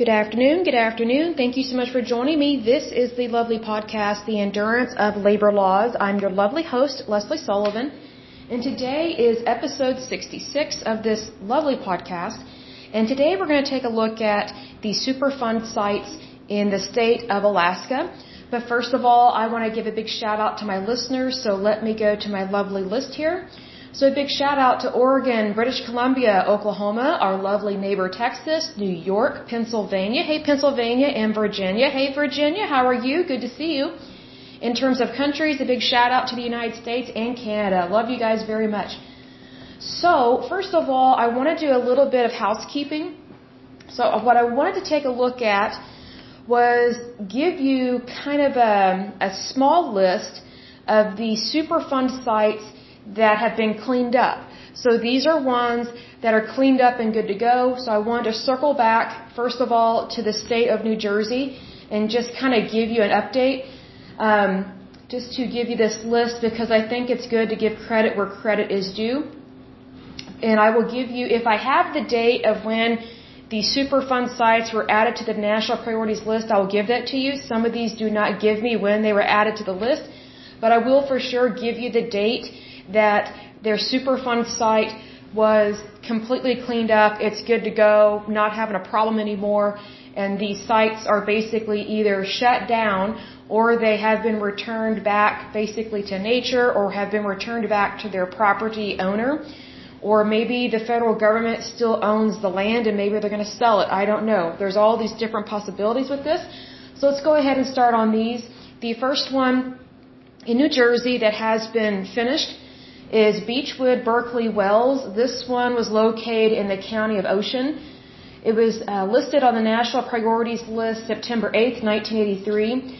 Good afternoon. Good afternoon. Thank you so much for joining me. This is the lovely podcast, The Endurance of Labor Laws. I'm your lovely host, Leslie Sullivan, and today is episode 66 of this lovely podcast. And today we're going to take a look at the Superfund sites in the state of Alaska. But first of all, I want to give a big shout out to my listeners, so let me go to my lovely list here. So a big shout out to Oregon, British Columbia, Oklahoma, our lovely neighbor Texas, New York, Pennsylvania. Hey Pennsylvania, and Virginia. Hey Virginia, how are you? Good to see you. In terms of countries, a big shout out to the United States and Canada. Love you guys very much. So first of all, I want to do a little bit of housekeeping. So what I wanted to take a look at was give you kind of a small list of the Superfund sites that have been cleaned up. So these are ones that are cleaned up and good to go. So I wanted to circle back, first of all, to the state of New Jersey and just kind of give you an update, just to give you this list because I think it's good to give credit where credit is due. And I will give you, if I have the date of when the Superfund sites were added to the National Priorities List, I will give that to you. Some of these do not give me when they were added to the list, but I will for sure give you the date that their Superfund site was completely cleaned up, it's good to go, not having a problem anymore, and these sites are basically either shut down or they have been returned back basically to nature or have been returned back to their property owner, or maybe the federal government still owns the land and maybe they're going to sell it. I don't know. There's all these different possibilities with this. So let's go ahead and start on these. The first one in New Jersey that has been finished is Beechwood Berkeley Wells. This one was located in the county of Ocean. It was listed on the National Priorities List September 8th, 1983.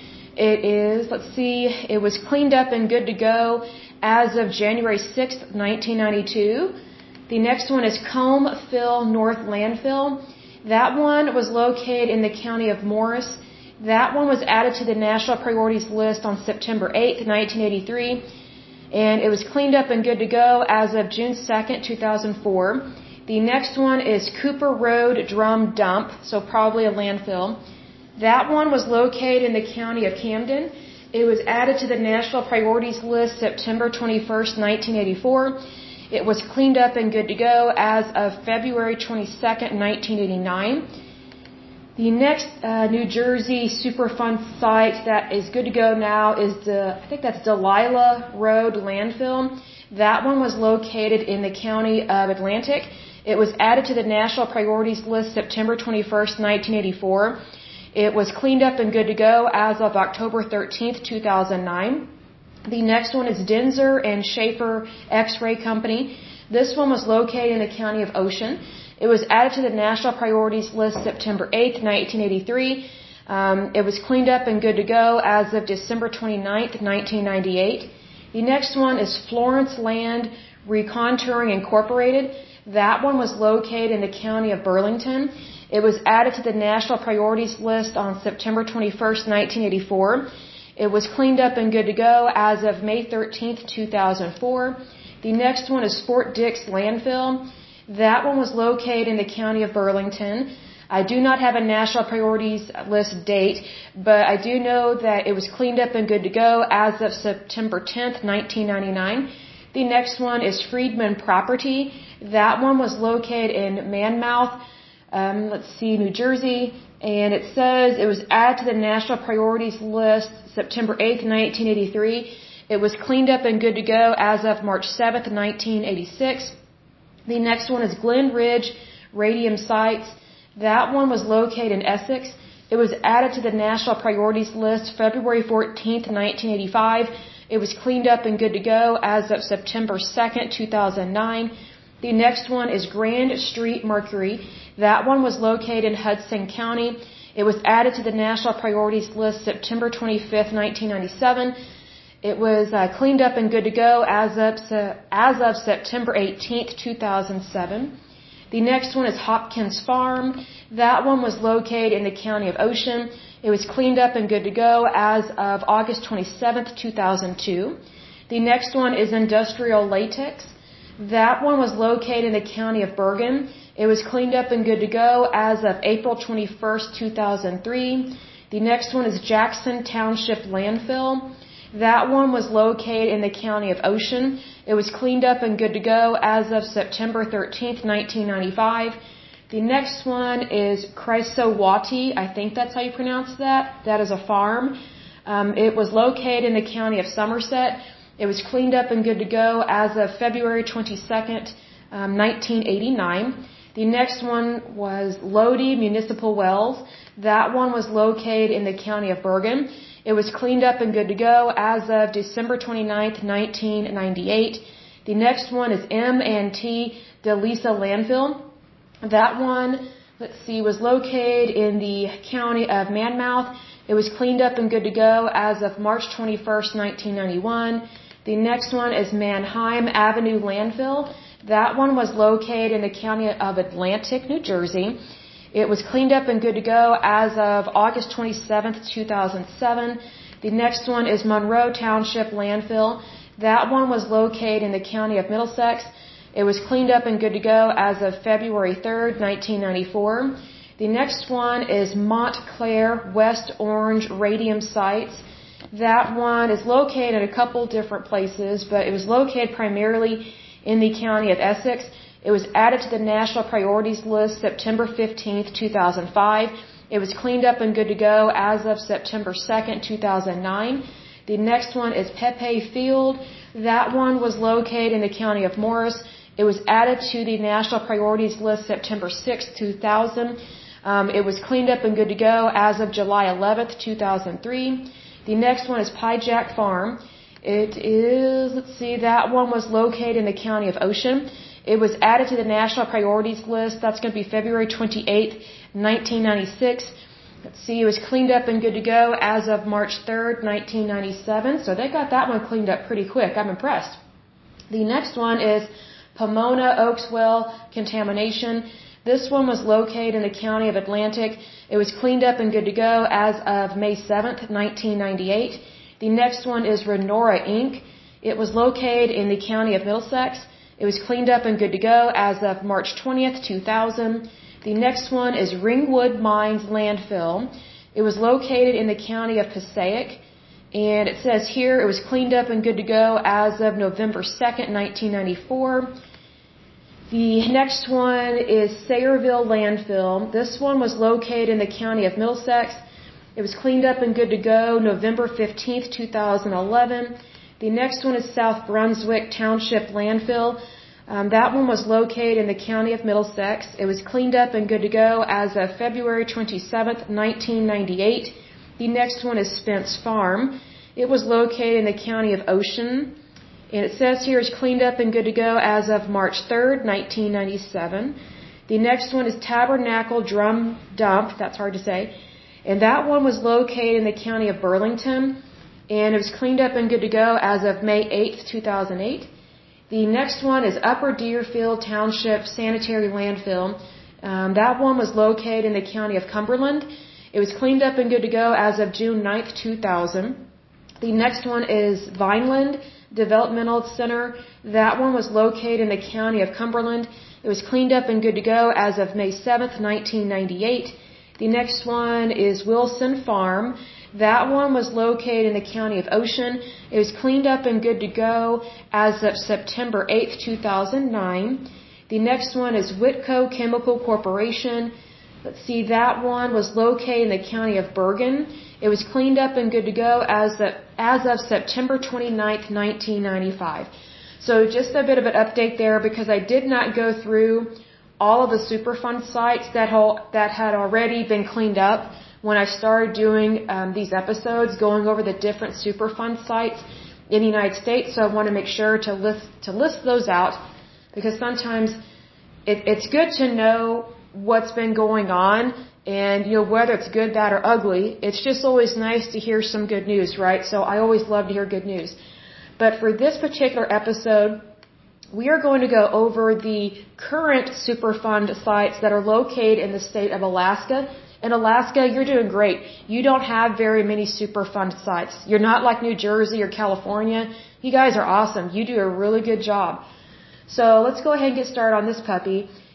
It was cleaned up and good to go as of January 6th, 1992. The next one is Combe-Fill North Landfill. That one was located in the county of Morris. That one was added to the National Priorities List on September 8th, 1983. And it was cleaned up and good to go as of June 2nd, 2004. The next one is Cooper Road Drum Dump, so probably a landfill. That one was located in the county of Camden. It was added to the National Priorities List September 21st, 1984. It was cleaned up and good to go as of February 22nd, 1989. The next New Jersey Superfund site that is good to go now is I think that's Delilah Road Landfill. That one was located in the county of Atlantic. It was added to the National Priorities List September 21st, 1984. It was cleaned up and good to go as of October 13th, 2009. The next one is Denzer and Schaefer X-Ray Company. This one was located in the county of Ocean. It was added to the National Priorities List September 8th, 1983. It was cleaned up and good to go as of December 29th, 1998. The next one is Florence Land Recontouring Incorporated. That one was located in the county of Burlington. It was added to the National Priorities List on September 21st, 1984. It was cleaned up and good to go as of May 13th, 2004. The next one is Fort Dix Landfill. That one was located in the county of Burlington. I do not have a National Priorities List date, but I do know that it was cleaned up and good to go as of September 10th, 1999. The next one is Friedman Property. That one was located in Monmouth, New Jersey, and it says it was added to the National Priorities List September 8th, 1983. It was cleaned up and good to go as of March 7th, 1986. The next one is Glen Ridge Radium Sites. That one was located in Essex. It was added to the National Priorities List February 14th, 1985. It was cleaned up and good to go as of September 2nd, 2009. The next one is Grand Street Mercury. That one was located in Hudson County. It was added to the National Priorities List September 25th, 1997. It was cleaned up and good to go as of September 18th, 2007. The next one is Hopkins Farm. That one was located in the county of Ocean. It was cleaned up and good to go as of August 27th, 2002. The next one is Industrial Latex. That one was located in the county of Bergen. It was cleaned up and good to go as of April 21st, 2003. The next one is Jackson Township Landfill. That one was located in the county of Ocean. It was cleaned up and good to go as of September 13th, 1995. The next one is Chrysowati. I think that's how you pronounce that. That is a farm. It was located in the county of Somerset. It was cleaned up and good to go as of February 22nd, 1989. The next one was Lodi Municipal Wells. That one was located in the county of Bergen. It was cleaned up and good to go as of December 29th, 1998. The next one is M&T DeLisa Landfill. That one, was located in the county of Monmouth. It was cleaned up and good to go as of March 21st, 1991. The next one is Mannheim Avenue Landfill. That one was located in the county of Atlantic, New Jersey. It was cleaned up and good to go as of August 27th, 2007. The next one is Monroe Township Landfill. That one was located in the county of Middlesex. It was cleaned up and good to go as of February 3rd, 1994. The next one is Montclair West Orange Radium Sites. That one is located in a couple different places, but it was located primarily in the county of Essex. It was added to the National Priorities List September 15th, 2005. It was cleaned up and good to go as of September 2nd, 2009. The next one is Pepe Field. That one was located in the county of Morris. It was added to the National Priorities List September 6th, 2000. It was cleaned up and good to go as of July 11th, 2003. The next one is Pie Jack Farm. It is, that one was located in the county of Ocean. It was added to the National Priorities List. That's going to be February 28th, 1996. It was cleaned up and good to go as of March 3rd, 1997. So they got that one cleaned up pretty quick. I'm impressed. The next one is Pomona Oakswell Contamination. This one was located in the county of Atlantic. It was cleaned up and good to go as of May 7th, 1998. The next one is Renora Inc. It was located in the county of Middlesex. It was cleaned up and good to go as of March 20th, 2000. The next one is Ringwood Mines Landfill. It was located in the county of Passaic. And it says here it was cleaned up and good to go as of November 2nd, 1994. The next one is Sayreville Landfill. This one was located in the county of Middlesex. It was cleaned up and good to go November 15th, 2011. The next one is South Brunswick Township Landfill. That one was located in the county of Middlesex. It was cleaned up and good to go as of February 27th, 1998. The next one is Spence Farm. It was located in the county of Ocean. And it says here it's cleaned up and good to go as of March 3rd, 1997. The next one is Tabernacle Drum Dump. That's hard to say. And that one was located in the county of Burlington. And it was cleaned up and good to go as of May 8th, 2008. The next one is Upper Deerfield Township Sanitary Landfill. That one was located in the county of Cumberland. It was cleaned up and good to go as of June 9th, 2000. The next one is Vineland Developmental Center. That one was located in the county of Cumberland. It was cleaned up and good to go as of May 7th, 1998. The next one is Wilson Farm. That one was located in the county of Ocean. It was cleaned up and good to go as of September 8th, 2009. The next one is Whitco Chemical Corporation. That one was located in the county of Bergen. It was cleaned up and good to go as of September 29th, 1995. So just a bit of an update there because I did not go through all of the Superfund sites that had already been cleaned up when I started doing these episodes, going over the different Superfund sites in the United States. So I want to make sure to list those out because sometimes it's good to know what's been going on and, whether it's good, bad, or ugly. It's just always nice to hear some good news, right? So I always love to hear good news. But for this particular episode, we are going to go over the current Superfund sites that are located in the state of Alaska. In Alaska, you're doing great. You don't have very many Superfund sites. You're not like New Jersey or California. You guys are awesome. You do a really good job. So let's go ahead and get started on this puppy.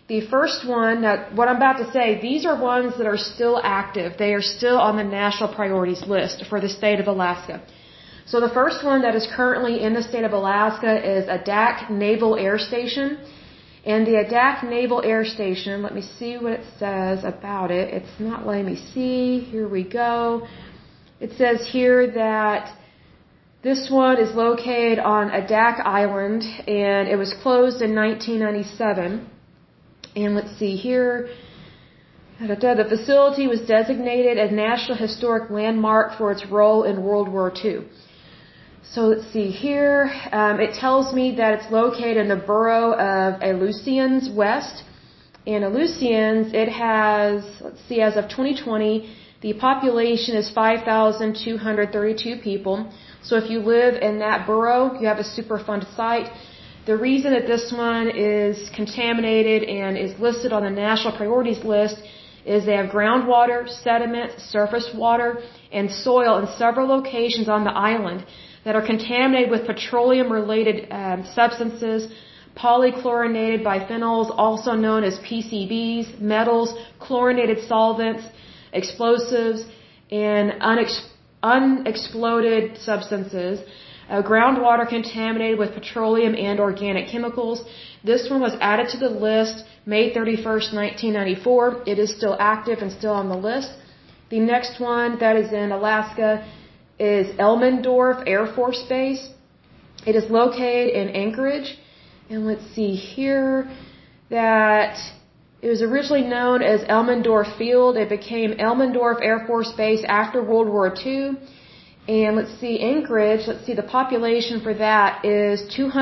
The first one, now what I'm about to say, these are ones that are still active. They are still on the national priorities list for the state of Alaska. So the first one that is currently in the state of Alaska is Adak Naval Air Station. And the Adak Naval Air Station, let me see what it says about it. It's not letting me see. Here we go. It says here that this one is located on Adak Island, and it was closed in 1997. And let's see here. The facility was designated a National Historic Landmark for its role in World War II. So let's see here. It tells me that it's located in the borough of Aleutians West. In Aleutians, it has, let's see, as of 2020, the population is 5,232 people. So if you live in that borough, you have a Superfund site. The reason that this one is contaminated and is listed on the national priorities list is they have groundwater, sediment, surface water, and soil in several locations on the island that are contaminated with petroleum-related substances, polychlorinated biphenyls, also known as PCBs, metals, chlorinated solvents, explosives, and unexploded substances. Groundwater contaminated with petroleum and organic chemicals. This one was added to the list May 31st, 1994. It is still active and still on the list. The next one that is in Alaska is Elmendorf Air Force Base. It is located in Anchorage. And let's see here that it was originally known as Elmendorf Field. It became Elmendorf Air Force Base after World War II. And let's see, Anchorage, let's see, the population for that is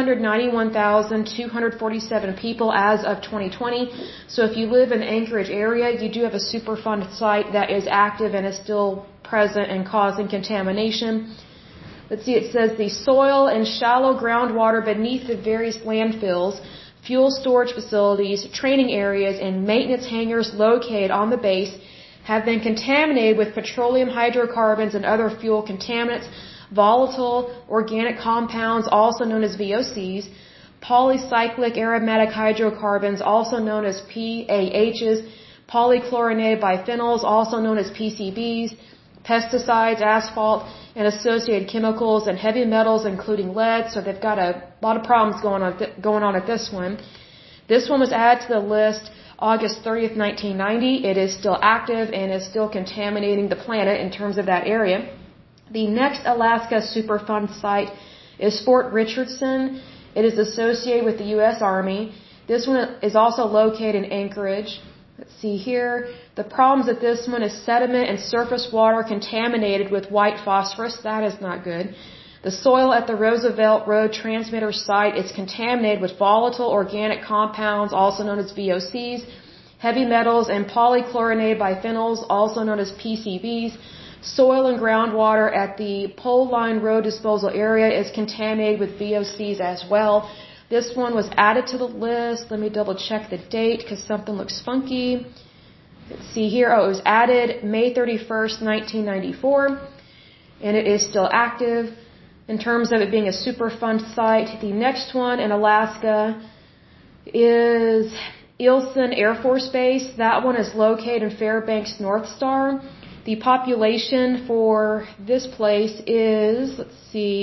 291,247 people as of 2020. So if you live in the Anchorage area, you do have a Superfund site that is active and is still present and causing contamination. Let's see, it says the soil and shallow groundwater beneath the various landfills, fuel storage facilities, training areas, and maintenance hangars located on the base have been contaminated with petroleum hydrocarbons and other fuel contaminants, volatile organic compounds, also known as VOCs, polycyclic aromatic hydrocarbons, also known as PAHs, polychlorinated biphenyls, also known as PCBs, pesticides, asphalt, and associated chemicals, and heavy metals, including lead. So they've got a lot of problems going on at this one. This one was added to the list August 30th, 1990. It is still active and is still contaminating the planet in terms of that area. The next Alaska Superfund site is Fort Richardson. It is associated with the U.S. Army. This one is also located in Anchorage. Let's see here. The problems at this one is sediment and surface water contaminated with white phosphorus. That is not good. The soil at the Roosevelt Road transmitter site is contaminated with volatile organic compounds, also known as VOCs, heavy metals, and polychlorinated biphenyls, also known as PCBs. Soil and groundwater at the Pole Line Road disposal area is contaminated with VOCs as well. This one was added to the list. Let me double check the date because something looks funky. Let's see here. Oh, it was added May 31st, 1994, and it is still active. In terms of it being a Superfund site, the next one in Alaska is Eielson Air Force Base. That one is located in Fairbanks North Star. The population for this place is, let's see,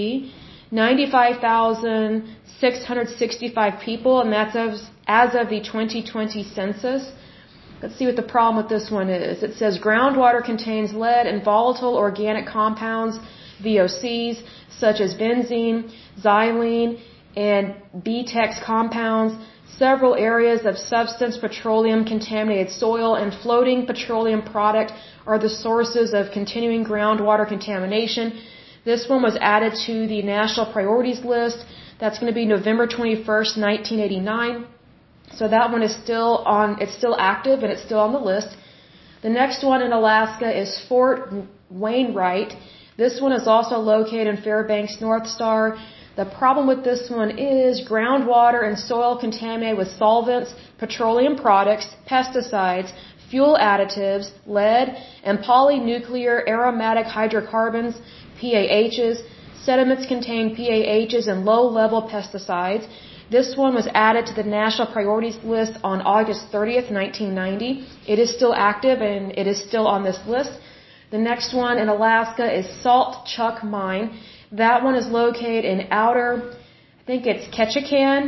95,665 people, and that's as of the 2020 census. Let's see what the problem with this one is. It says groundwater contains lead and volatile organic compounds, VOCs, such as benzene, xylene, and BTEX compounds. Several areas of substance petroleum contaminated soil and floating petroleum product are the sources of continuing groundwater contamination. This one was added to the national priorities list. That's going to be November 21st, 1989. So that one is it's still active and it's still on the list. The next one in Alaska is Fort Wainwright. This one is also located in Fairbanks North Star. The problem with this one is groundwater and soil contaminated with solvents, petroleum products, pesticides, fuel additives, lead, and polynuclear aromatic hydrocarbons, PAHs. Sediments contain PAHs and low-level pesticides. This one was added to the national priorities list on August 30th, 1990. It is still active and it is still on this list. The next one in Alaska is Saltchuk Mine. That one is located in outer, I think it's Ketchikan,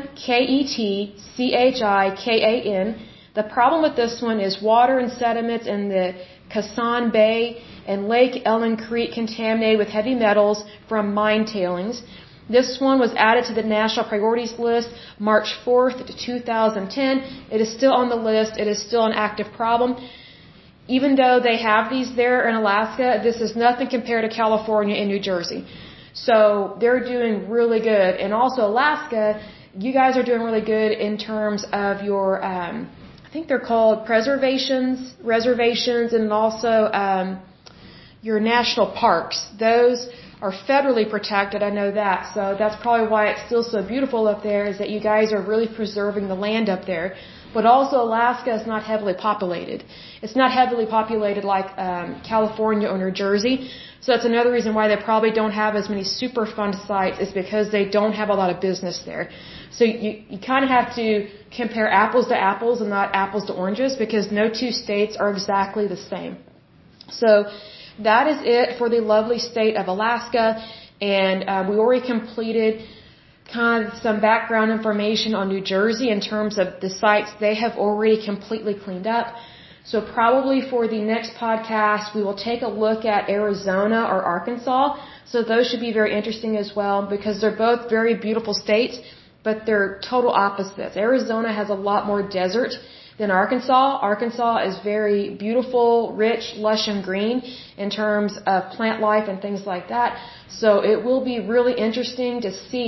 Ketchikan. The problem with this one is water and sediments in the Kasan Bay and Lake Ellen Creek contaminated with heavy metals from mine tailings. This one was added to the national priorities list March 4th, 2010. It is still on the list. It is still an active problem. Even though they have these there in Alaska, this is nothing compared to California and New Jersey. So they're doing really good. And also Alaska, you guys are doing really good in terms of your, I think they're called reservations, and also your national parks. Those are federally protected, I know that. So that's probably why it's still so beautiful up there, is that you guys are really preserving the land up there. But also Alaska is not heavily populated. It's not heavily populated like California or New Jersey. So that's another reason why they probably don't have as many Superfund sites, is because they don't have a lot of business there. So you kind of have to compare apples to apples and not apples to oranges, because no two states are exactly the same. So that is it for the lovely state of Alaska. And we already completed kind of some background information on New Jersey in terms of the sites they have already completely cleaned up. So probably for the next podcast, we will take a look at Arizona or Arkansas. So those should be very interesting as well, because they're both very beautiful states, but they're total opposites. Arizona has a lot more desert than Arkansas. Arkansas is very beautiful, rich, lush, and green in terms of plant life and things like that. So it will be really interesting to see,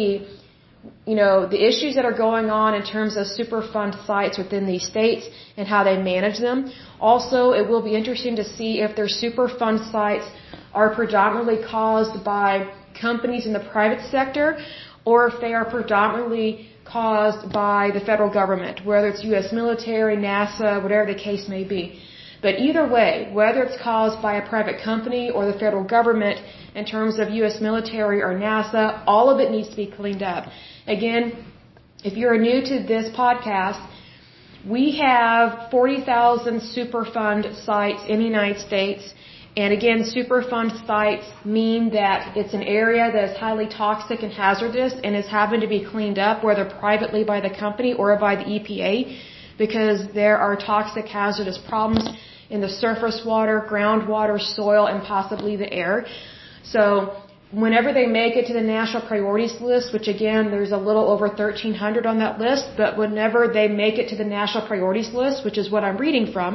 the issues that are going on in terms of Superfund sites within these states and how they manage them. Also, it will be interesting to see if their Superfund sites are predominantly caused by companies in the private sector, or if they are predominantly caused by the federal government, whether it's U.S. military, NASA, whatever the case may be. But either way, whether it's caused by a private company or the federal government in terms of U.S. military or NASA, all of it needs to be cleaned up. Again, if you're new to this podcast, we have 40,000 Superfund sites in the United States. And again, Superfund sites mean that it's an area that is highly toxic and hazardous and is having to be cleaned up, whether privately by the company or by the EPA, because there are toxic hazardous problems in the surface water, groundwater, soil, and possibly the air. So whenever they make it to the national priorities list, which again, there's a little over 1,300 on that list, but whenever they make it to the national priorities list, which is what I'm reading from,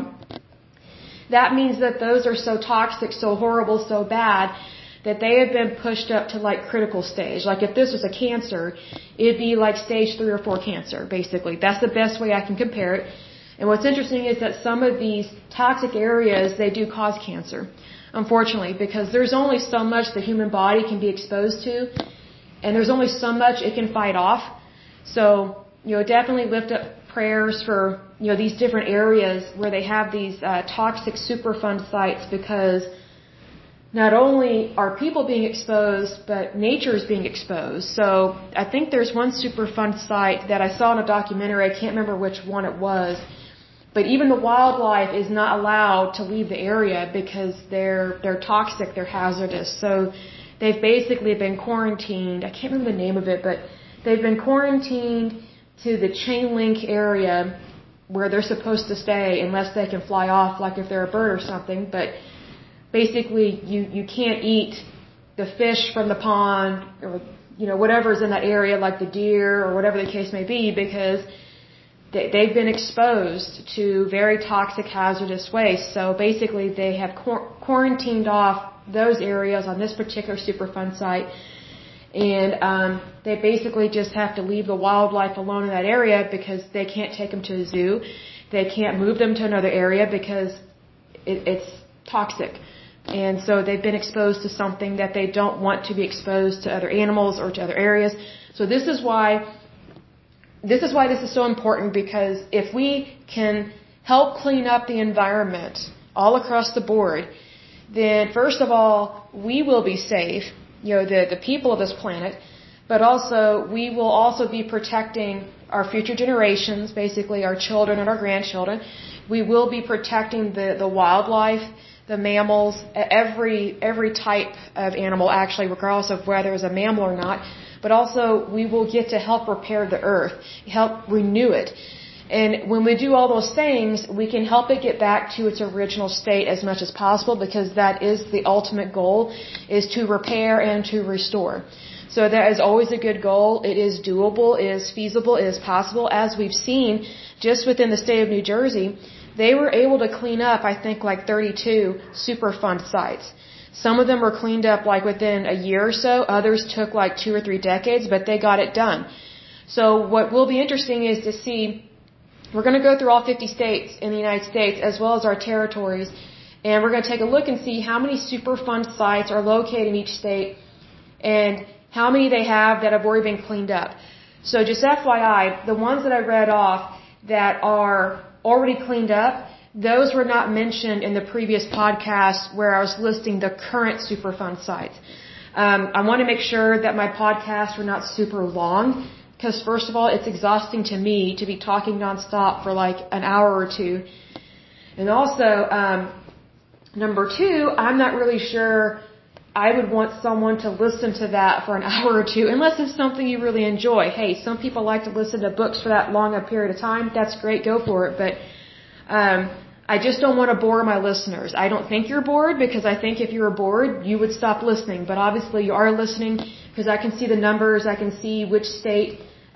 that means that those are so toxic, so horrible, so bad, that they have been pushed up to like critical stage. Like if this was a cancer, it'd be like stage 3 or 4 cancer, basically. That's the best way I can compare it. And what's interesting is that some of these toxic areas, they do cause cancer, unfortunately, because there's only so much the human body can be exposed to, and there's only so much it can fight off. So, definitely lift up prayers for, these different areas where they have these toxic Superfund sites, because not only are people being exposed, but nature is being exposed. So I think there's one Superfund site that I saw in a documentary, I can't remember which one it was, but even the wildlife is not allowed to leave the area because they're toxic, they're hazardous. So they've basically been quarantined. I can't remember the name of it, but they've been quarantined to the chain link area where they're supposed to stay unless they can fly off, like if they're a bird or something. But basically, you can't eat the fish from the pond or, whatever's in that area, like the deer or whatever the case may be, because they've been exposed to very toxic, hazardous waste. So basically, they have quarantined off those areas on this particular Superfund site. And they basically just have to leave the wildlife alone in that area because they can't take them to the zoo. They can't move them to another area because it's toxic. And so they've been exposed to something that they don't want to be exposed to other animals or to other areas. So this is why this is so important, because if we can help clean up the environment all across the board, then first of all, we will be safe, the people of this planet. but also we will also be protecting our future generations, basically our children and our grandchildren. We will be protecting the wildlife, the mammals, every type of animal actually, regardless of whether it's a mammal or not. But also we will get to help repair the earth, help renew it. And when we do all those things, we can help it get back to its original state as much as possible, because that is the ultimate goal, is to repair and to restore. So that is always a good goal. It is doable, it is feasible, it is possible. As we've seen, just within the state of New Jersey, they were able to clean up, I think, like 32 Superfund sites. Some of them were cleaned up like within a year or so. Others took like 2 or 3 decades, but they got it done. So what will be interesting is to see, we're going to go through all 50 states in the United States as well as our territories, and we're going to take a look and see how many Superfund sites are located in each state and how many they have that have already been cleaned up. So just FYI, the ones that I read off that are already cleaned up, those were not mentioned in the previous podcast where I was listing the current Superfund sites. I want to make sure that my podcasts were not super long, because first of all, it's exhausting to me to be talking nonstop for like an hour or two. And also, number 2, I'm not really sure I would want someone to listen to that for an hour or two, unless it's something you really enjoy. Hey, some people like to listen to books for that long a period of time. That's great, go for it. But I just don't want to bore my listeners. I don't think you're bored, because I think if you were bored, you would stop listening. But obviously you are listening, because I can see the numbers. I can see which state,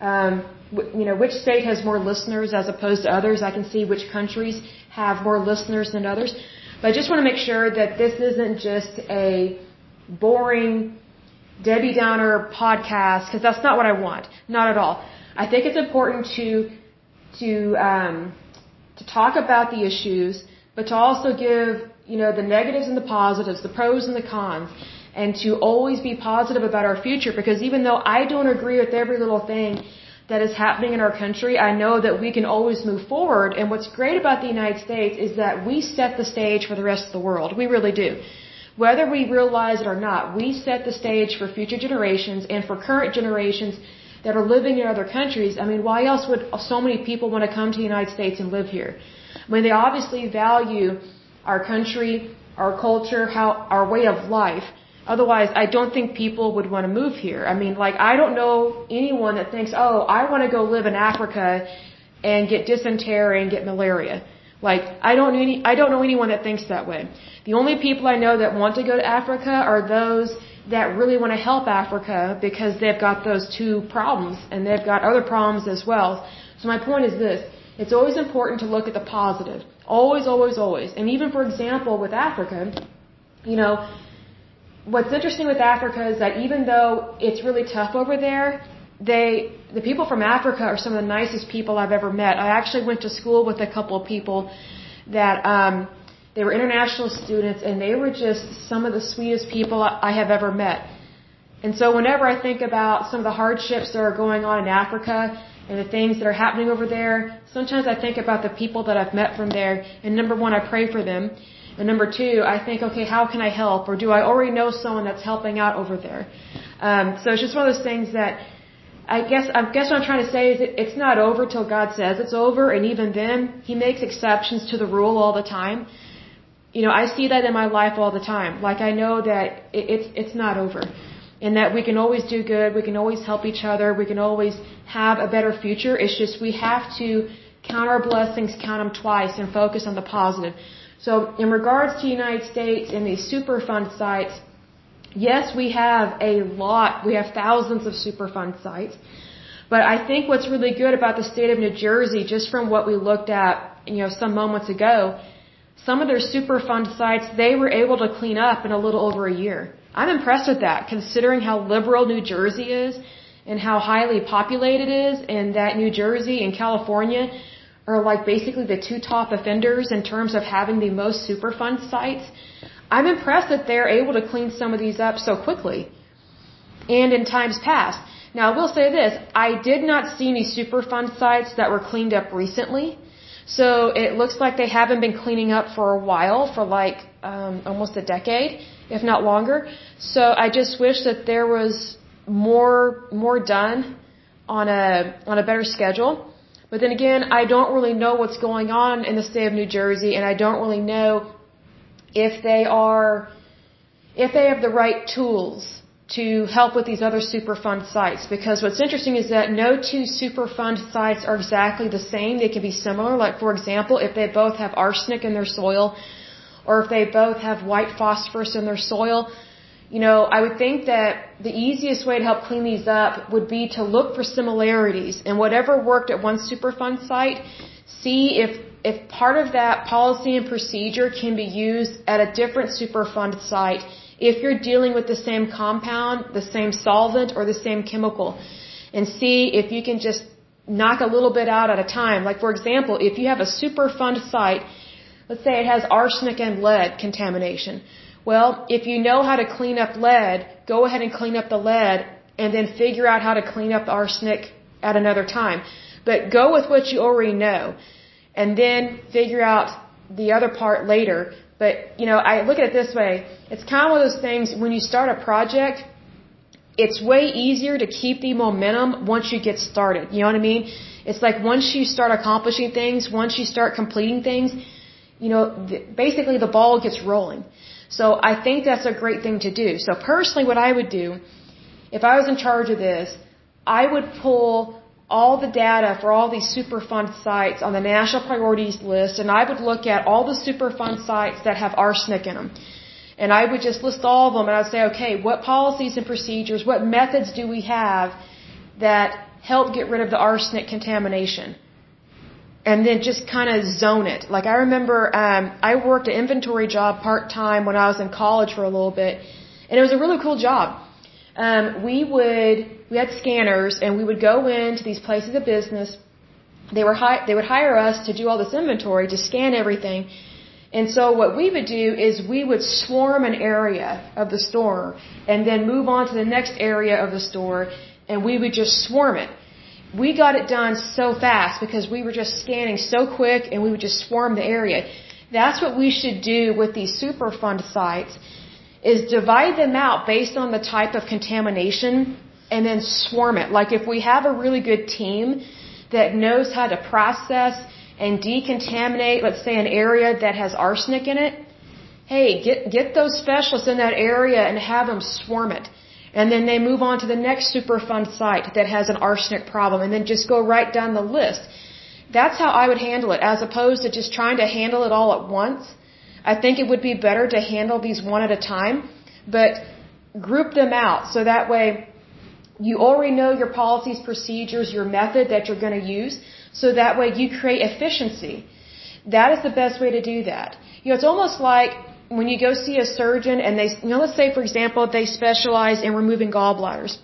which state has more listeners as opposed to others. I can see which countries have more listeners than others. But I just want to make sure that this isn't just a boring Debbie Downer podcast, because that's not what I want. Not at all. I think it's important to talk about the issues, but to also give, the negatives and the positives, the pros and the cons, and to always be positive about our future, because even though I don't agree with every little thing that is happening in our country, I know that we can always move forward. And what's great about the United States is that we set the stage for the rest of the world. We really do. Whether we realize it or not, we set the stage for future generations and for current generations that are living in other countries. I mean, why else would so many people want to come to the United States and live here? I mean, they obviously value our country, our culture, our way of life. Otherwise, I don't think people would want to move here. I mean, like, I don't know anyone that thinks, oh, I want to go live in Africa and get dysentery and get malaria. Like, I don't know anyone that thinks that way. The only people I know that want to go to Africa are those that really want to help Africa, because they've got those 2 problems, and they've got other problems as well. So my point is this: it's always important to look at the positive. Always, always, always. And even, for example, with Africa, what's interesting with Africa is that even though it's really tough over there, the people from Africa are some of the nicest people I've ever met. I actually went to school with a couple of people that, they were international students, and they were just some of the sweetest people I have ever met. And so whenever I think about some of the hardships that are going on in Africa and the things that are happening over there, sometimes I think about the people that I've met from there, and number 1, I pray for them. And number 2, I think, okay, how can I help? Or do I already know someone that's helping out over there? So it's just one of those things that I guess what I'm trying to say is it's not over till God says it's over, and even then, He makes exceptions to the rule all the time. I see that in my life all the time. Like, I know that it's not over, and that we can always do good, we can always help each other, we can always have a better future. It's just we have to count our blessings, count them twice, and focus on the positive. So in regards to the United States and these Superfund sites, yes, we have a lot. We have thousands of Superfund sites. But I think what's really good about the state of New Jersey, just from what we looked at, some moments ago, some of their Superfund sites, they were able to clean up in a little over a year. I'm impressed with that, considering how liberal New Jersey is and how highly populated it is, and that New Jersey and California are like basically the 2 top offenders in terms of having the most Superfund sites. I'm impressed that they're able to clean some of these up so quickly and in times past. Now, I will say this: I did not see any Superfund sites that were cleaned up recently. So it looks like they haven't been cleaning up for a while, for like almost a decade, if not longer. So I just wish that there was more done on a better schedule. But then again, I don't really know what's going on in the state of New Jersey, and I don't really know if they have the right tools to help with these other Superfund sites. Because what's interesting is that no two Superfund sites are exactly the same. They can be similar. Like, for example, if they both have arsenic in their soil, or if they both have white phosphorus in their soil, I would think that the easiest way to help clean these up would be to look for similarities, and whatever worked at one Superfund site, see if part of that policy and procedure can be used at a different Superfund site if you're dealing with the same compound, the same solvent, or the same chemical, and see if you can just knock a little bit out at a time. Like, for example, if you have a Superfund site, let's say it has arsenic and lead contamination. Well, if you know how to clean up lead, go ahead and clean up the lead, and then figure out how to clean up the arsenic at another time. But go with what you already know, and then figure out the other part later. But, I look at it this way. It's kind of one of those things, when you start a project, it's way easier to keep the momentum once you get started. You know what I mean? It's like once you start accomplishing things, once you start completing things, basically the ball gets rolling. So I think that's a great thing to do. So personally, what I would do, if I was in charge of this, I would pull all the data for all these Superfund sites on the national priorities list, and I would look at all the Superfund sites that have arsenic in them. And I would just list all of them, and I would say, okay, what policies and procedures, what methods do we have that help get rid of the arsenic contamination? And then just kind of zone it. Like, I remember I worked an inventory job part-time when I was in college for a little bit, and it was a really cool job. We had scanners, and we would go into these places of business. They would hire us to do all this inventory, to scan everything. And so what we would do is we would swarm an area of the store and then move on to the next area of the store, and we would just swarm it. We got it done so fast because we were just scanning so quick, and we would just swarm the area. That's what we should do with these Superfund sites, is divide them out based on the type of contamination and then swarm it. Like, if we have a really good team that knows how to process and decontaminate, let's say, an area that has arsenic in it, hey, get those specialists in that area and have them swarm it. And then they move on to the next Superfund site that has an arsenic problem, and then just go right down the list. That's how I would handle it, as opposed to just trying to handle it all at once. I think it would be better to handle these one at a time, but group them out so that way you already know your policies, procedures, your method that you're going to use, so that way you create efficiency. That is the best way to do that. It's almost like when you go see a surgeon and they, let's say, for example, they specialize in removing gallbladders.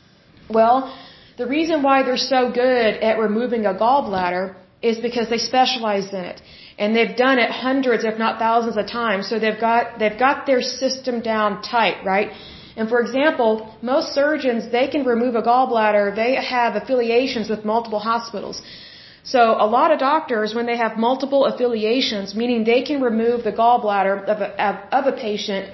Well, the reason why they're so good at removing a gallbladder is because they specialize in it. And they've done it hundreds, if not thousands of times, so they've got their system down tight, right? And for example, most surgeons, they can remove a gallbladder, they have affiliations with multiple hospitals. So a lot of doctors, when they have multiple affiliations, meaning they can remove the gallbladder of a patient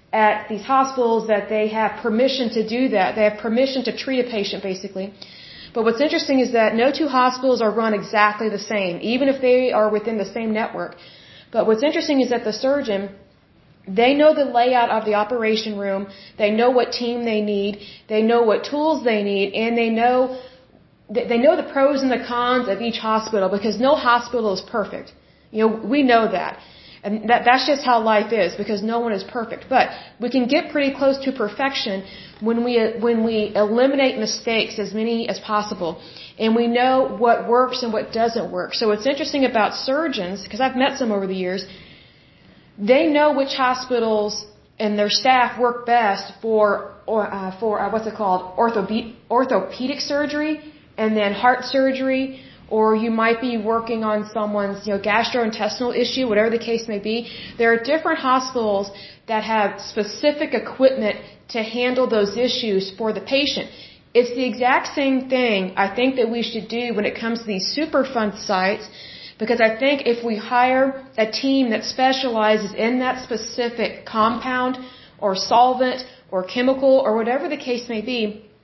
at these hospitals that they have permission to do that. They have permission to treat a patient, basically. But what's interesting is that no two hospitals are run exactly the same, even if they are within the same network. But what's interesting is that the surgeon, they know the layout of the operation room, they know what team they need, they know what tools they need, and they know the pros and the cons of each hospital, because no hospital is perfect. We know that. And that's just how life is, because no one is perfect. But we can get pretty close to perfection when we eliminate mistakes, as many as possible. And we know what works and what doesn't work. So what's interesting about surgeons, because I've met some over the years, they know which hospitals and their staff work best for what's it called? Orthopedic surgery, and then heart surgery, or you might be working on someone's, gastrointestinal issue, whatever the case may be. There are different hospitals that have specific equipment to handle those issues for the patient. It's the exact same thing I think that we should do when it comes to these Superfund sites, because I think if we hire a team that specializes in that specific compound or solvent or chemical or whatever the case may be,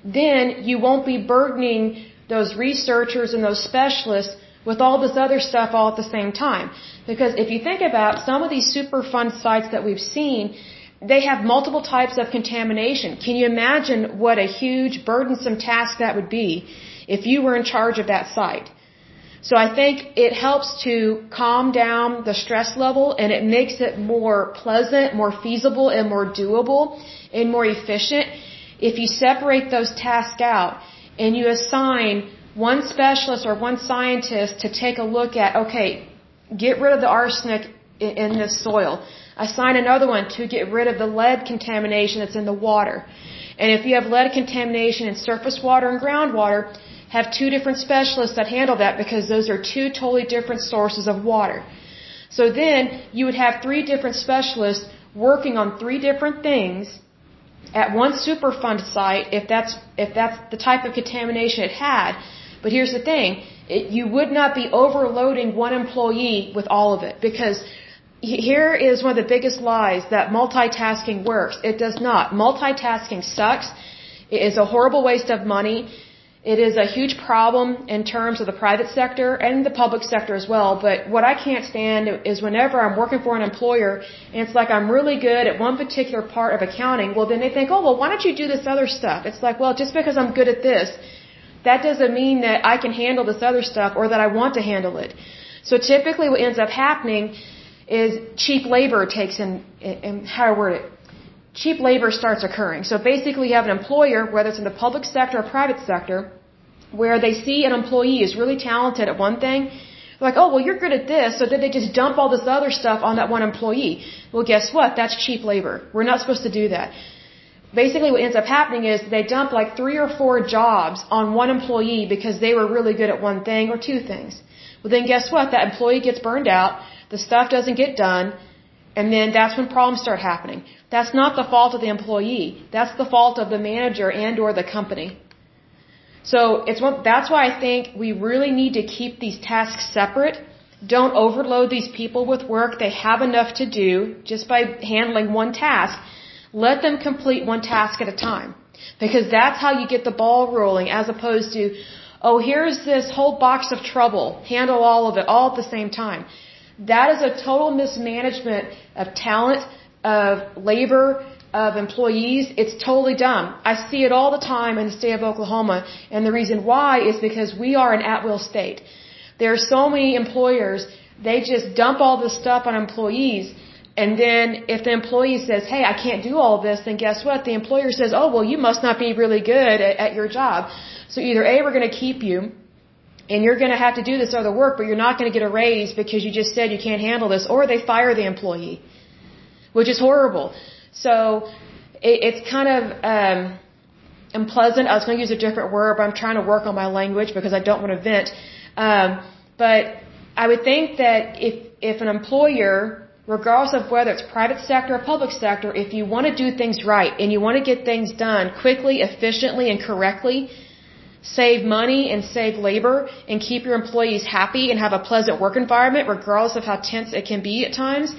then you won't be burdening those researchers and those specialists with all this other stuff all at the same time. Because if you think about some of these Superfund sites that we've seen, they have multiple types of contamination. Can you imagine what a huge, burdensome task that would be if you were in charge of that site? So I think it helps to calm down the stress level, and it makes it more pleasant, more feasible, and more doable, and more efficient if you separate those tasks out and you assign one specialist or one scientist to take a look at, okay, get rid of the arsenic in the soil. Assign another one to get rid of the lead contamination that's in the water. And if you have lead contamination in surface water and groundwater, have two different specialists that handle that, because those are two totally different sources of water. So then you would have three different specialists working on three different things at one Superfund site if that's the type of contamination it had. But here's the thing, you would not be overloading one employee with all of it, because here is one of the biggest lies that multitasking works. It does not. Multitasking sucks. It is a horrible waste of money. It is a huge problem in terms of the private sector and the public sector as well. But what I can't stand is whenever I'm working for an employer and it's like I'm really good at one particular part of accounting, well then they think, oh, well, why don't you do this other stuff? It's like, well, just because I'm good at this, that doesn't mean that I can handle this other stuff or that I want to handle it. So typically what ends up happening is cheap labor takes in how to word it. Cheap labor starts occurring. So basically you have an employer, whether it's in the public sector or private sector, where they see an employee is really talented at one thing. They're like, oh, well, you're good at this, so then they just dump all this other stuff on that one employee. Well, guess what? That's cheap labor. We're not supposed to do that. Basically what ends up happening is they dump like 3 or 4 jobs on one employee because they were really good at one thing or two things. Well, then guess what? That employee gets burned out, the stuff doesn't get done, and then that's when problems start happening. That's not the fault of the employee. That's the fault of the manager and or the company. So that's why I think we really need to keep these tasks separate. Don't overload these people with work. They have enough to do just by handling one task. Let them complete one task at a time. Because that's how you get the ball rolling, as opposed to, oh, here's this whole box of trouble. Handle all of it all at the same time. That is a total mismanagement of talent, of labor, of employees. It's totally dumb. I see it all the time in the state of Oklahoma, and the reason why is because we are an at-will state. There are so many employers, they just dump all this stuff on employees, and then if the employee says, hey, I can't do all this, then guess what? The employer says, oh, well, you must not be really good at your job. So either A, we're going to keep you, and you're going to have to do this other work, but you're not going to get a raise because you just said you can't handle this, or they fire the employee, which is horrible. So it's kind of unpleasant. I was going to use a different word, but I'm trying to work on my language because I don't want to vent. But I would think that if an employer, regardless of whether it's private sector or public sector, if you want to do things right and you want to get things done quickly, efficiently, and correctly, save money and save labor and keep your employees happy and have a pleasant work environment regardless of how tense it can be at times,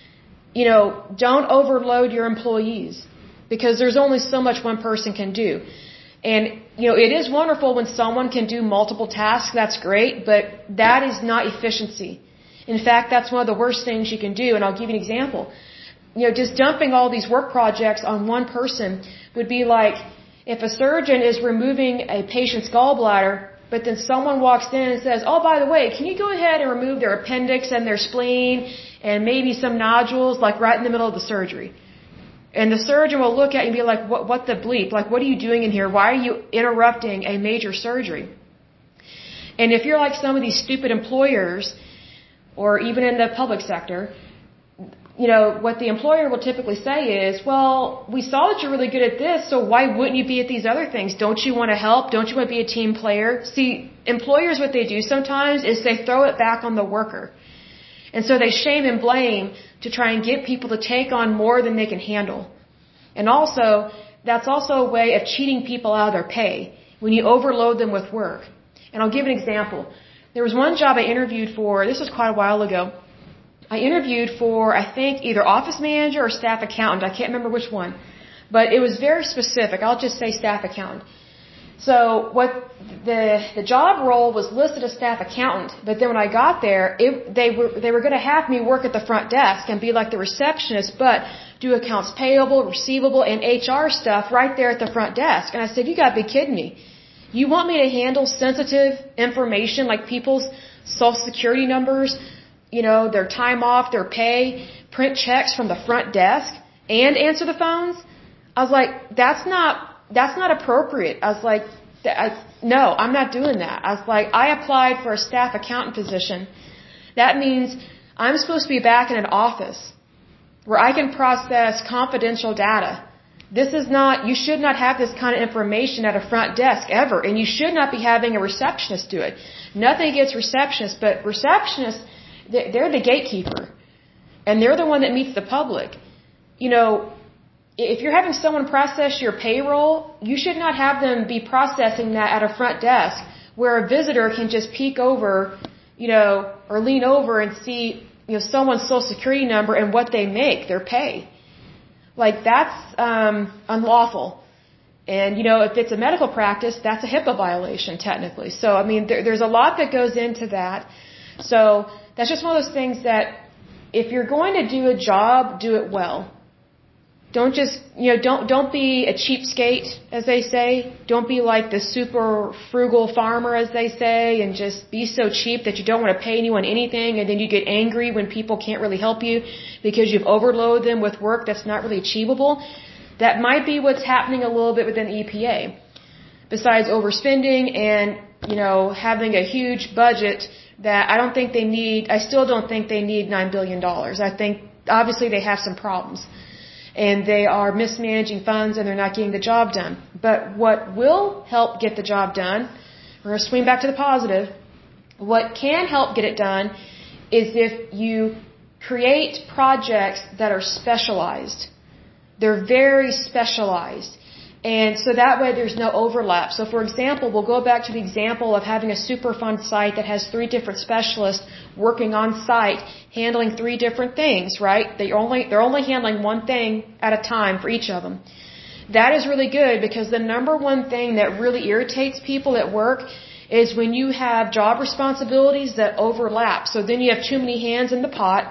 don't overload your employees, because there's only so much one person can do. And, it is wonderful when someone can do multiple tasks. That's great, but that is not efficiency. In fact, that's one of the worst things you can do. And I'll give you an example. Just dumping all these work projects on one person would be like if a surgeon is removing a patient's gallbladder, but then someone walks in and says, oh, by the way, can you go ahead and remove their appendix and their spleen and maybe some nodules, like right in the middle of the surgery? And the surgeon will look at you and be like, what the bleep? Like, what are you doing in here? Why are you interrupting a major surgery? And if you're like some of these stupid employers, or even in the public sector, what the employer will typically say is, well, we saw that you're really good at this, so why wouldn't you be at these other things? Don't you want to help? Don't you want to be a team player? See, employers, what they do sometimes is they throw it back on the worker. And so they shame and blame to try and get people to take on more than they can handle. And also, that's also a way of cheating people out of their pay when you overload them with work. And I'll give an example. There was one job I interviewed for, this was quite a while ago. I interviewed for, I think, either office manager or staff accountant. I can't remember which one. But it was very specific. I'll just say staff accountant. So what the job role was listed as staff accountant, but then when I got there, they were going to have me work at the front desk and be like the receptionist, but do accounts payable, receivable, and HR stuff right there at the front desk. And I said, you got to be kidding me. You want me to handle sensitive information like people's social security numbers, their time off, their pay, print checks from the front desk, and answer the phones? I was like, that's not appropriate. I was like, no, I'm not doing that. I was like, I applied for a staff accountant position. That means I'm supposed to be back in an office where I can process confidential data. You should not have this kind of information at a front desk ever, and you should not be having a receptionist do it. Nothing against receptionists, but receptionists, they're the gatekeeper, and they're the one that meets the public. If you're having someone process your payroll, you should not have them be processing that at a front desk where a visitor can just peek over, or lean over and see, someone's social security number and what they make, their pay. Like, that's unlawful. And, if it's a medical practice, that's a HIPAA violation, technically. So, I mean, there's a lot that goes into that. So, that's just one of those things that if you're going to do a job, do it well. Don't just, don't be a cheapskate, as they say. Don't be like the super frugal farmer, as they say, and just be so cheap that you don't want to pay anyone anything, and then you get angry when people can't really help you because you've overloaded them with work that's not really achievable. That might be what's happening a little bit within the EPA. Besides overspending and, having a huge budget that I still don't think they need $9 billion. I think, obviously, they have some problems. And they are mismanaging funds and they're not getting the job done. But what will help get the job done, we're going to swing back to the positive, what can help get it done is if you create projects that are specialized. They're very specialized. And so that way there's no overlap. So for example, we'll go back to the example of having a Superfund site that has 3 different specialists working on site, handling 3 different things, right? They're only handling one thing at a time for each of them. That is really good because the number one thing that really irritates people at work is when you have job responsibilities that overlap. So then you have too many hands in the pot.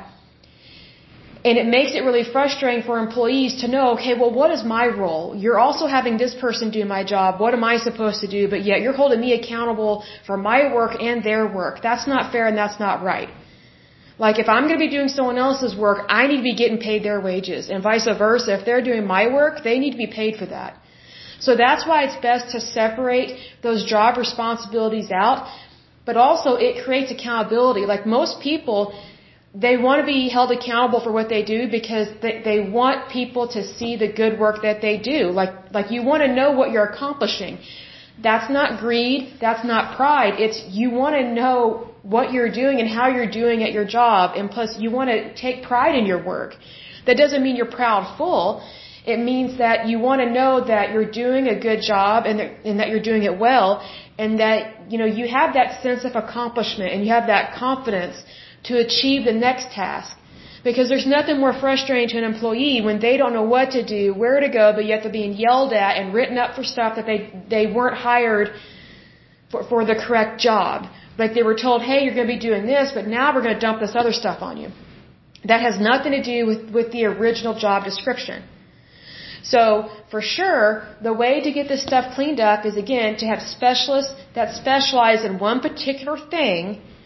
And it makes it really frustrating for employees to know, okay, well, what is my role? You're also having this person do my job. What am I supposed to do? But yet you're holding me accountable for my work and their work. That's not fair and that's not right. Like, if I'm going to be doing someone else's work, I need to be getting paid their wages. And vice versa. If they're doing my work, they need to be paid for that. So that's why it's best to separate those job responsibilities out. But also, it creates accountability. Like, most people, they want to be held accountable for what they do because they want people to see the good work that they do. Like you want to know what you're accomplishing. That's not greed. That's not pride. It's you want to know what you're doing and how you're doing at your job. And plus, you want to take pride in your work. That doesn't mean you're proudful. It means that you want to know that you're doing a good job and that you're doing it well. And that, you have that sense of accomplishment and you have that confidence to achieve the next task. Because there's nothing more frustrating to an employee when they don't know what to do, where to go, but yet they're being yelled at and written up for stuff that they weren't hired for the correct job. Like they were told, hey, you're going to be doing this, but now we're going to dump this other stuff on you. That has nothing to do with the original job description. So, for sure, the way to get this stuff cleaned up is, again, to have specialists that specialize in one particular thing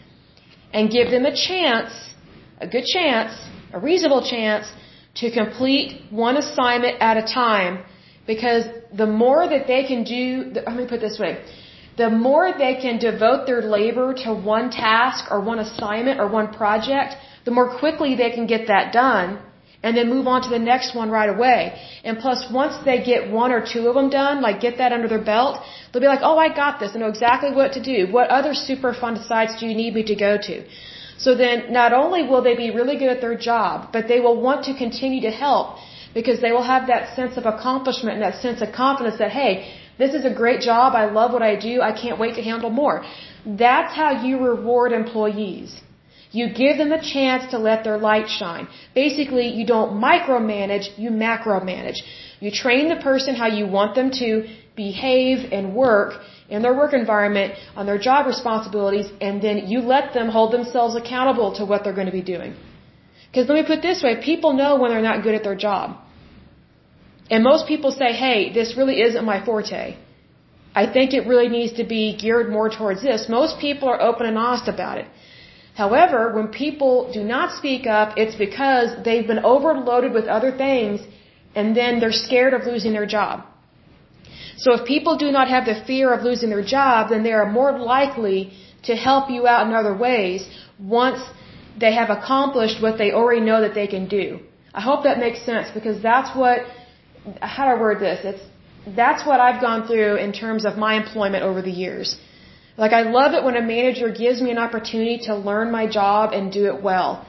and give them a chance, a good chance, a reasonable chance to complete one assignment at a time, because the more that they can do, let me put it this way, the more they can devote their labor to one task or one assignment or one project, the more quickly they can get that done and then move on to the next one right away. And plus, once they get 1 or 2 of them done, like get that under their belt, they'll be like, oh, I got this. I know exactly what to do. What other Superfund sites do you need me to go to? So then not only will they be really good at their job, but they will want to continue to help because they will have that sense of accomplishment and that sense of confidence that, hey, this is a great job. I love what I do. I can't wait to handle more. That's how you reward employees. You give them a chance to let their light shine. Basically, you don't micromanage, you macromanage. You train the person how you want them to behave and work in their work environment, on their job responsibilities, and then you let them hold themselves accountable to what they're going to be doing. Because let me put it this way, people know when they're not good at their job. And most people say, hey, this really isn't my forte. I think it really needs to be geared more towards this. Most people are open and honest about it. However, when people do not speak up, it's because they've been overloaded with other things and then they're scared of losing their job. So if people do not have the fear of losing their job, then they are more likely to help you out in other ways once they have accomplished what they already know that they can do. I hope that makes sense because that's what, how do I word this? That's what I've gone through in terms of my employment over the years. Like, I love it when a manager gives me an opportunity to learn my job and do it well.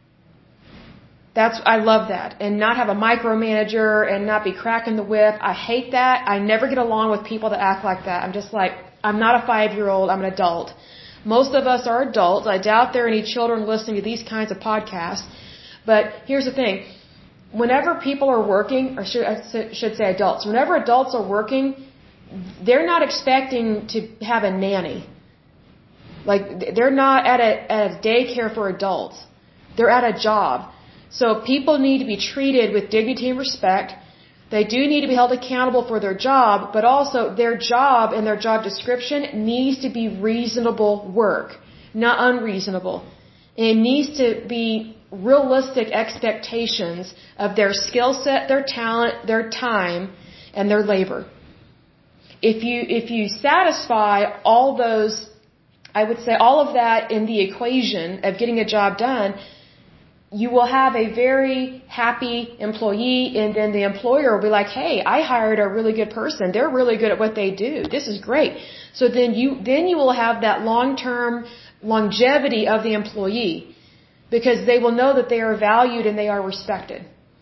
I love that. And not have a micromanager and not be cracking the whip. I hate that. I never get along with people that act like that. I'm just like, I'm not a 5-year-old, I'm an adult. Most of us are adults. I doubt there are any children listening to these kinds of podcasts. But here's the thing. Whenever people are working, or I should say adults, whenever adults are working, they're not expecting to have a nanny. Like, they're not at a daycare for adults. They're at a job. So people need to be treated with dignity and respect. They do need to be held accountable for their job, but also their job and their job description needs to be reasonable work, not unreasonable. It needs to be realistic expectations of their skill set, their talent, their time, and their labor. If you satisfy all those, I would say all of that in the equation of getting a job done, you will have a very happy employee, and then the employer will be like, hey, I hired a really good person. They're really good at what they do. This is great. So then you will have that long-term longevity of the employee because they will know that they are valued and they are respected.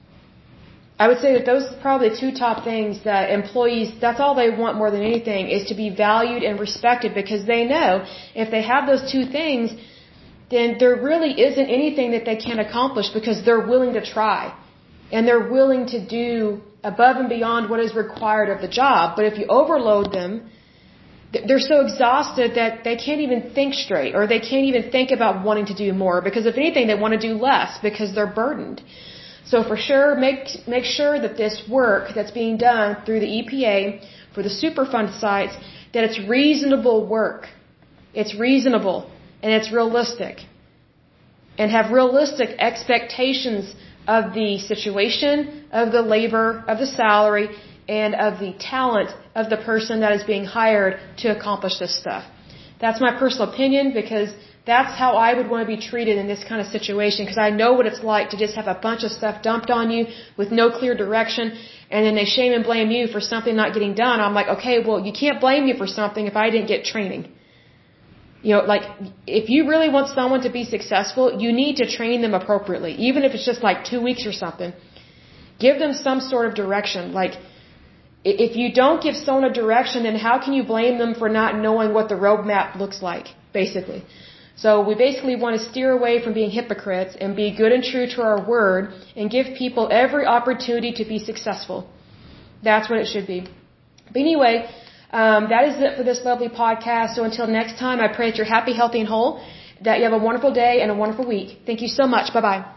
I would say that those are probably the two top things that employees, that's all they want more than anything, is to be valued and respected because they know if they have those two things, then there really isn't anything that they can't accomplish because they're willing to try. And they're willing to do above and beyond what is required of the job. But if you overload them, they're so exhausted that they can't even think straight or they can't even think about wanting to do more because if anything, they want to do less because they're burdened. So for sure, make sure that this work that's being done through the EPA for the Superfund sites, that it's reasonable work. It's reasonable and it's realistic. And have realistic expectations of the situation, of the labor, of the salary, and of the talent of the person that is being hired to accomplish this stuff. That's my personal opinion because that's how I would want to be treated in this kind of situation because I know what it's like to just have a bunch of stuff dumped on you with no clear direction and then they shame and blame you for something not getting done. I'm like, okay, well, you can't blame me for something if I didn't get training. You know, like, if you really want someone to be successful, you need to train them appropriately, even if it's just like 2 weeks or something. Give them some sort of direction. Like, if you don't give someone a direction, then how can you blame them for not knowing what the roadmap looks like, basically? So we basically want to steer away from being hypocrites and be good and true to our word and give people every opportunity to be successful. That's what it should be. But anyway, that is it for this lovely podcast. So until next time, I pray that you're happy, healthy, and whole, that you have a wonderful day and a wonderful week. Thank you so much. Bye-bye.